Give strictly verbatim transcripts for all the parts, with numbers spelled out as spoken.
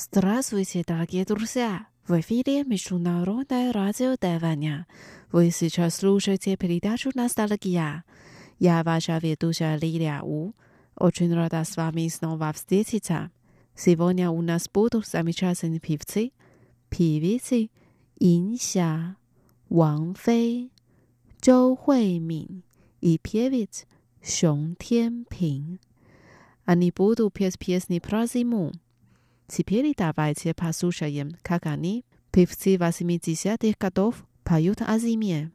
Здравствуйте, дорогие друзья! В эфире Международное радио Тайваня. Вы сейчас слушаете передачу «Ностальгия». Я ваша ведущая Лилия У. Очень рада с вами снова встретиться. Сегодня у нас будут замечательные певцы, певицы Инся, Ван Фэй, Зhou Huimin и певец Шон Тянпин. Они будут петь песни про зиму. Теперь давайте послушаем, как они, певцы восьмидесятых годов, поют о зиме.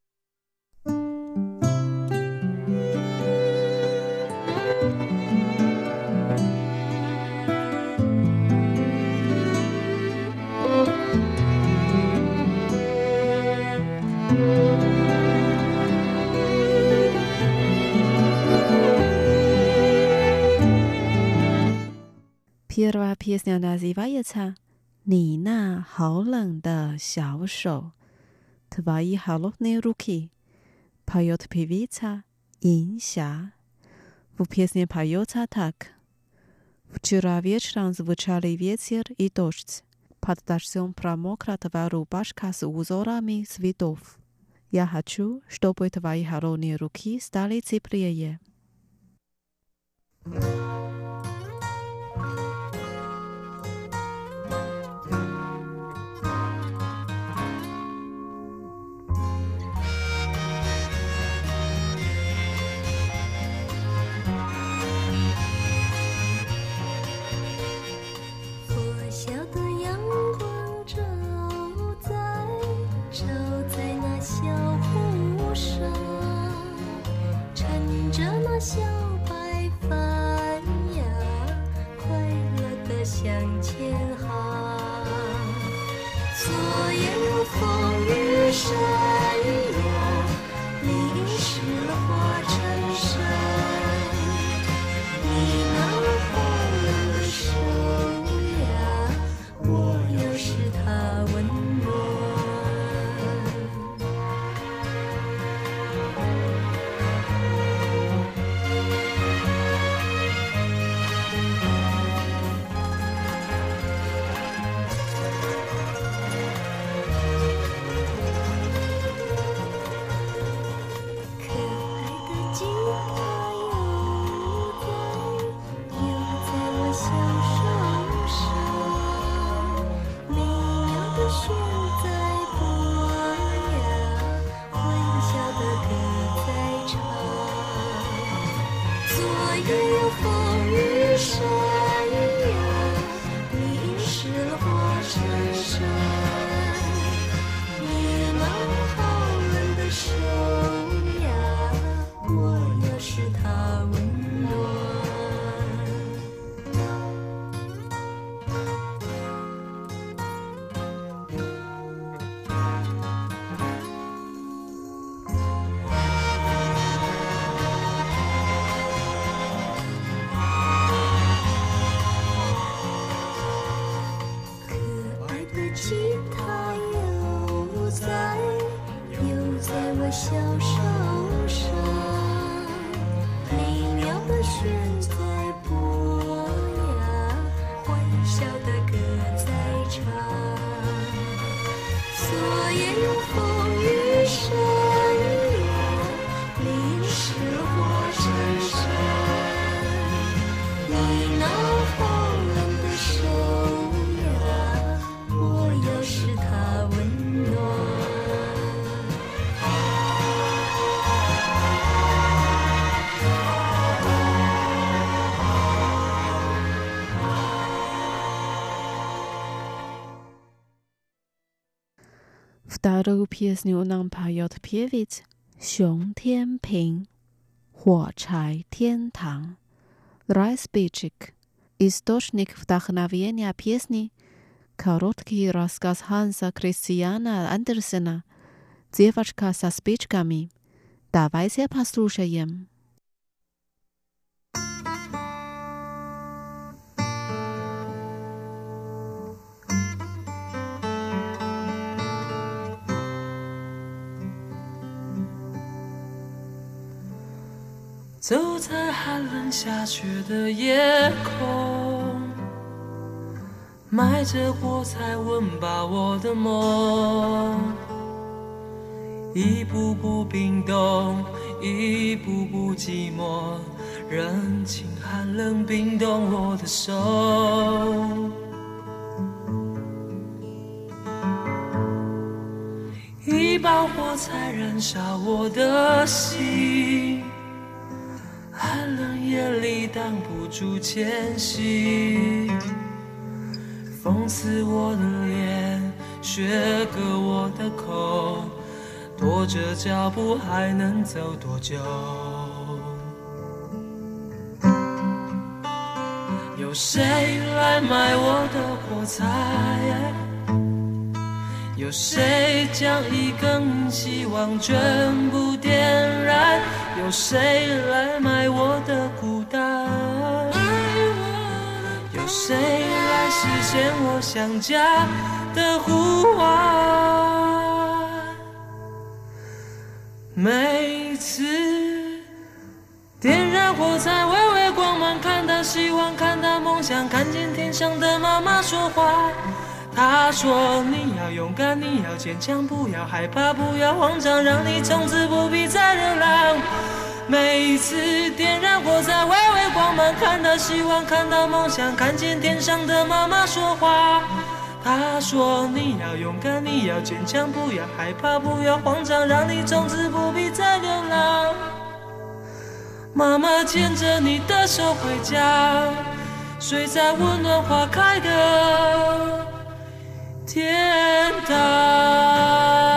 Первая песня называется «你那好冷的小手», «Твои холодные руки», поет певица Инся. В песне поется так. Вчера вечером звучали ветер и дождь. Под дождем промокла твоя рубашка с узорами цветов. Я хочу, чтобы твои холодные руки стали теплее. Вторую песню нам поет певец Шон Тянпин, «火柴天堂», «Райспичик». Источник вдохновения песни — короткий рассказ Ханса Кристиана Андерсена «Девочка со спичками». Давайте послушаем. 走在寒冷下雪的夜空， 埋着火柴温饱我的梦，一步步冰冻，一步步寂寞，人情寒冷冰冻我的手。一把火柴燃烧我的心，寒冷夜里挡不住前行，风刺我的脸，雪割我的口，拖着脚步还能走多久？有谁来买我的火柴？有谁将一根希望全部点燃？有谁来买我的孤单？有谁来实现我想家的呼唤？每次点燃火柴，微微光芒，看到希望，看到梦想，看见天上的妈妈说话。她说你要勇敢，你要坚强，不要害怕，不要慌张，让你从此不必再流浪。每一次点燃火柴，微微光芒，看到希望，看到梦想，看见天上的妈妈说话。她说你要勇敢，你要坚强，不要害怕，不要慌张，让你从此不必再流浪。妈妈牵着你的手回家，睡在温暖花开的天堂。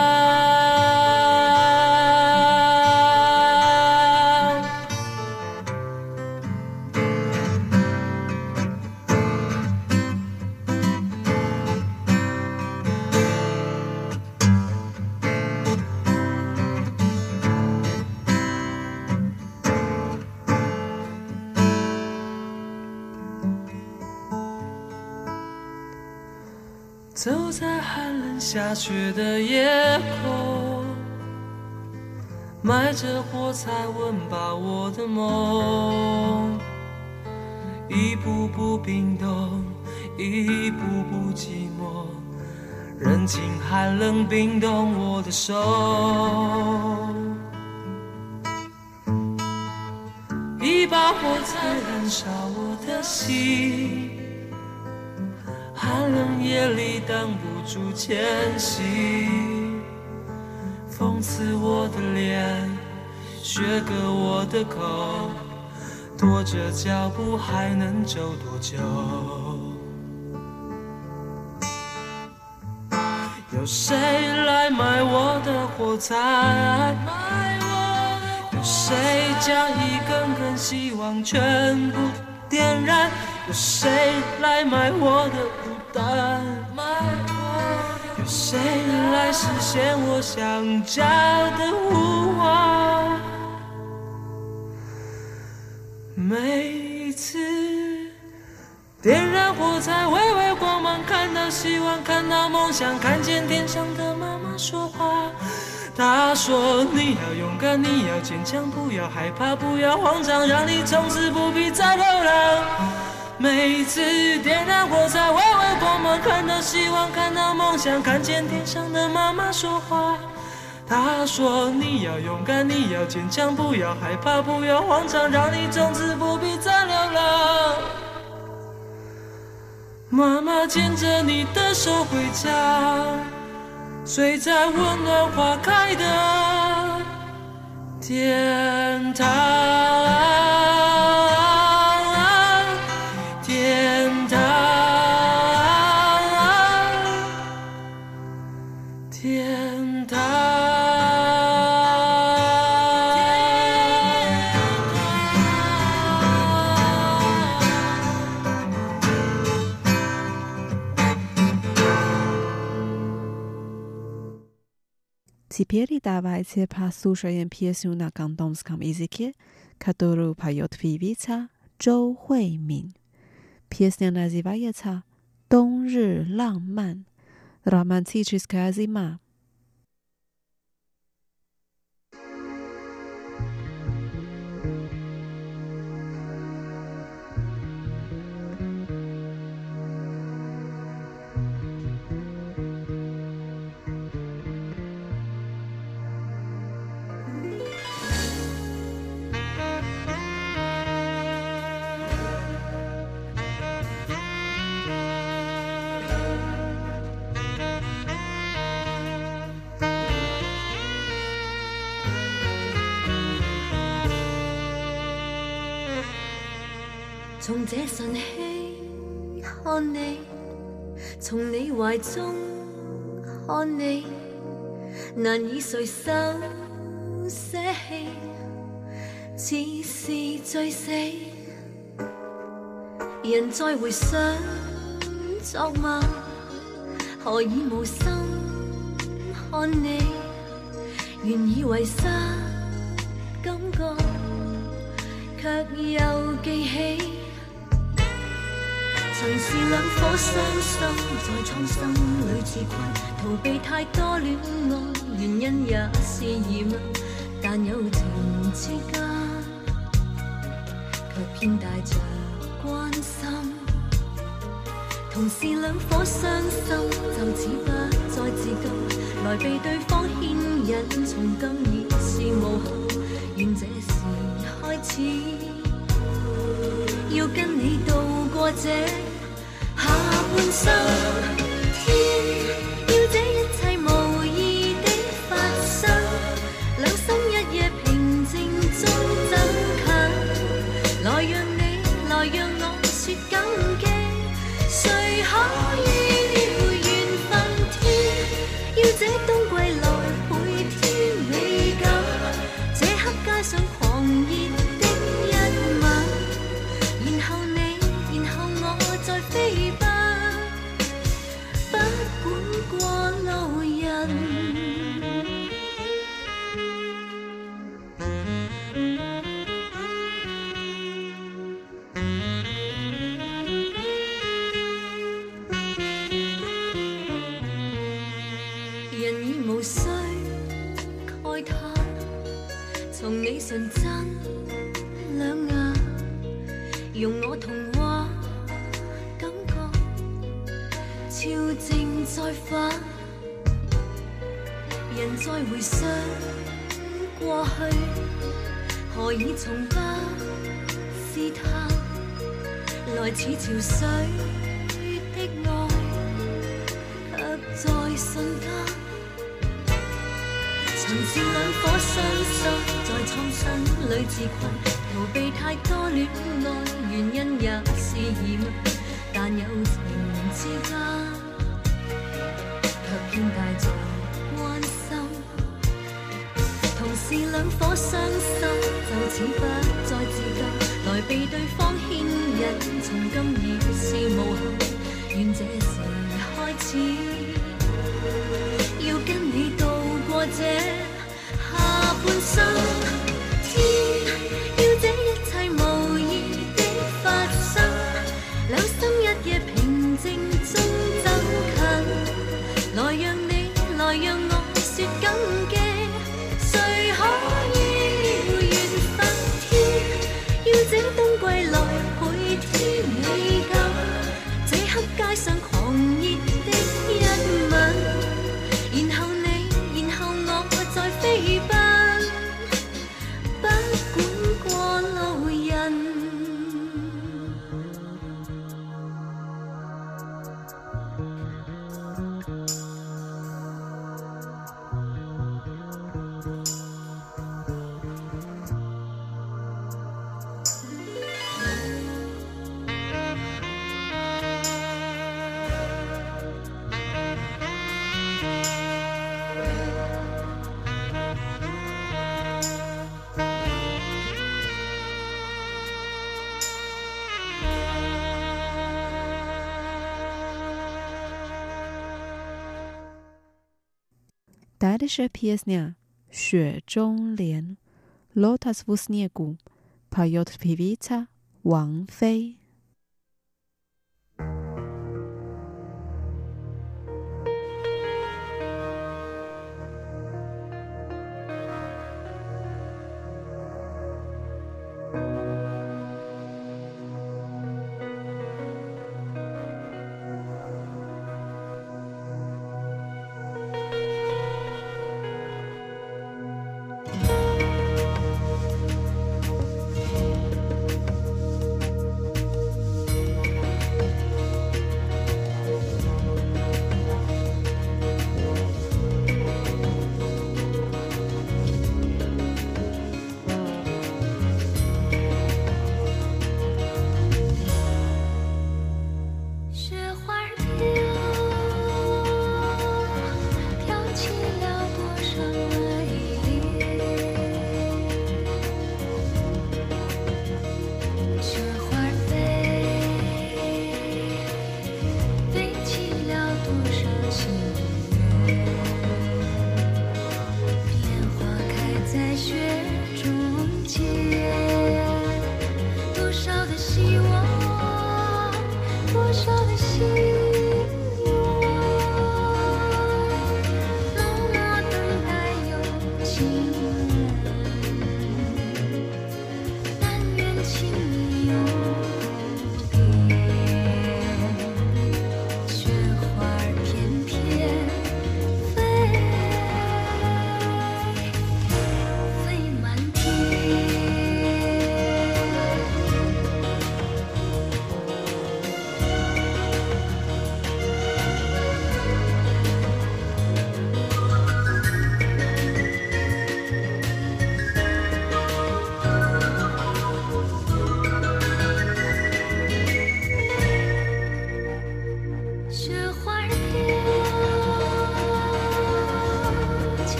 走在寒冷下雪的夜空，埋着火柴温饱我的梦，一步步冰冻，一步步寂寞，人情寒冷冰冻我的手。一把火柴燃烧我的心，寒冷夜里挡不住前行，风刺我的脸，雪割我的口，拖着脚步还能走多久？有谁来买我的火柴？有谁将一根根希望全部点燃？有谁来买我的孤单？有谁来实现我想家的呼唤？每一次点燃火柴，微微光芒，看到希望，看到梦想，看见天上的妈妈说话。她说你要勇敢，你要坚强，不要害怕，不要慌张，让你从此不必再流浪。每一次点燃火柴，微微光芒，看到希望，看到梦想，看见天上的妈妈说话。她说你要勇敢，你要坚强，不要害怕，不要慌张，让你从此不必再流浪。妈妈牵着你的手回家，睡在温暖花开的天堂。天堂，天堂。 Теперь давайте послушаем песню на кантонском языке, которую поет певица Зhou Huimin. Песня называется «Дong Ры Ланг Ман» – «Романтическая зима». 从这晨曦看你，从你怀中看你，难以垂手舍弃，似是醉死。人再回想昨晚，何以无心看你？原以为失感觉，却又记起。曾是两颗伤心，在创伤里自困，逃避太多恋爱，原因也是疑问。但友情之间，却偏带着关心。同是两颗伤心，就此不再自禁，来被对方牵引，从今已是无憾。愿这时开始，要跟你渡过这下半生。天，要这一切无意的发生，两心一夜平静中走近，来让你，来让我说感激。谁可预料缘分？天，要这冬季来倍添美感，这刻街上狂热的一吻，然后你，然后我再飛奔，不管過路人。人已無需慨嘆，從你純真兩眼，容我童話感覺超正再返。人再回想過去，何以從不試探？來似潮水的愛，卻在瞬間。曾是兩顆傷心，在創傷裏自困，逃避太多戀愛，原因也是疑問。但友情之間，卻偏帶着關心。同是兩顆傷心，就此不再自禁，來被對方牽引，從今已是無憾。願這時開始，要跟你渡過這下半生。天，要這一切無意的發生，兩心一夜平靜中走近，來讓你，來讓我說感激。誰可預料緣分？天，要這冬季來倍添美感，這刻街上狂熱的一吻，然後你，然後我再飛奔，不管過路人。 Дальше песня «雪中莲» «Лотос в снегу» поет певица Ван Фэй.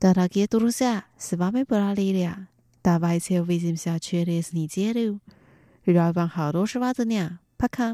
Дорогие друзья, с вами была Лилия. Давайте увидимся через неделю. Желаю вам хорошего дня. Пока.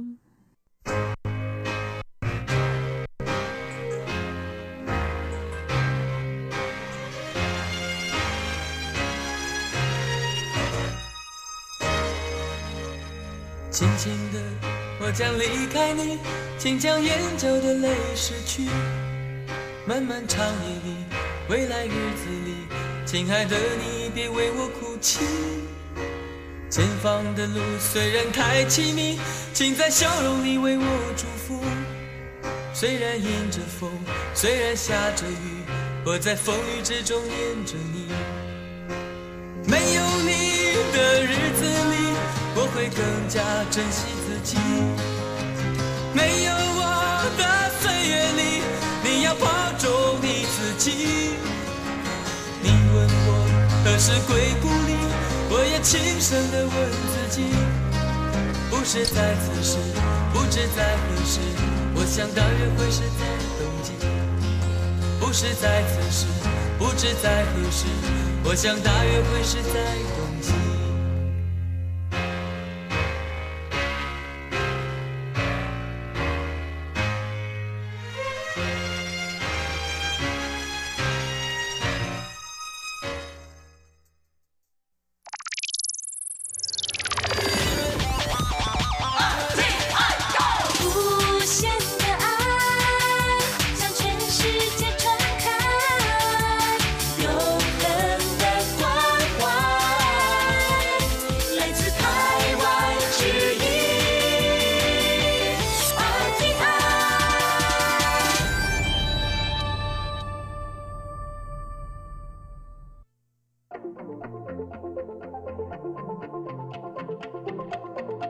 轻轻的，我将离开你，请将眼角的泪拭去。漫漫长夜里，未来日子里，亲爱的你别为我哭泣。前方的路虽然太凄迷，请在笑容里为我祝福。虽然迎着风，虽然下着雨，我在风雨之中念着你。没有你的日子里，我会更加珍惜自己。没有我的岁月里，你要保重你自己。你问我何时归故里，我也轻声地问自己。不是在此时，不知在何时，我想大约会是在冬季。不是在此时，不知在何时，我想大约会是在冬季。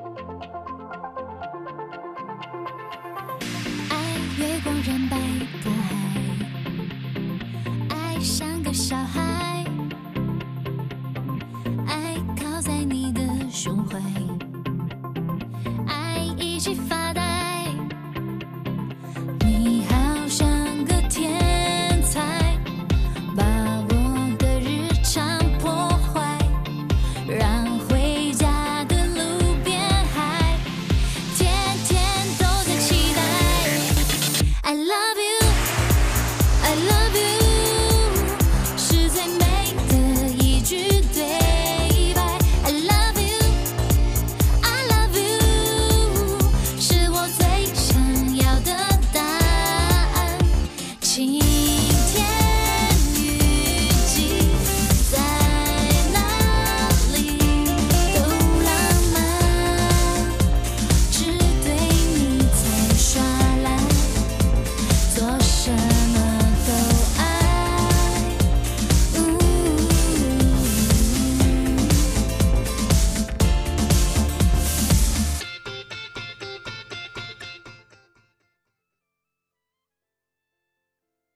爱月光染白。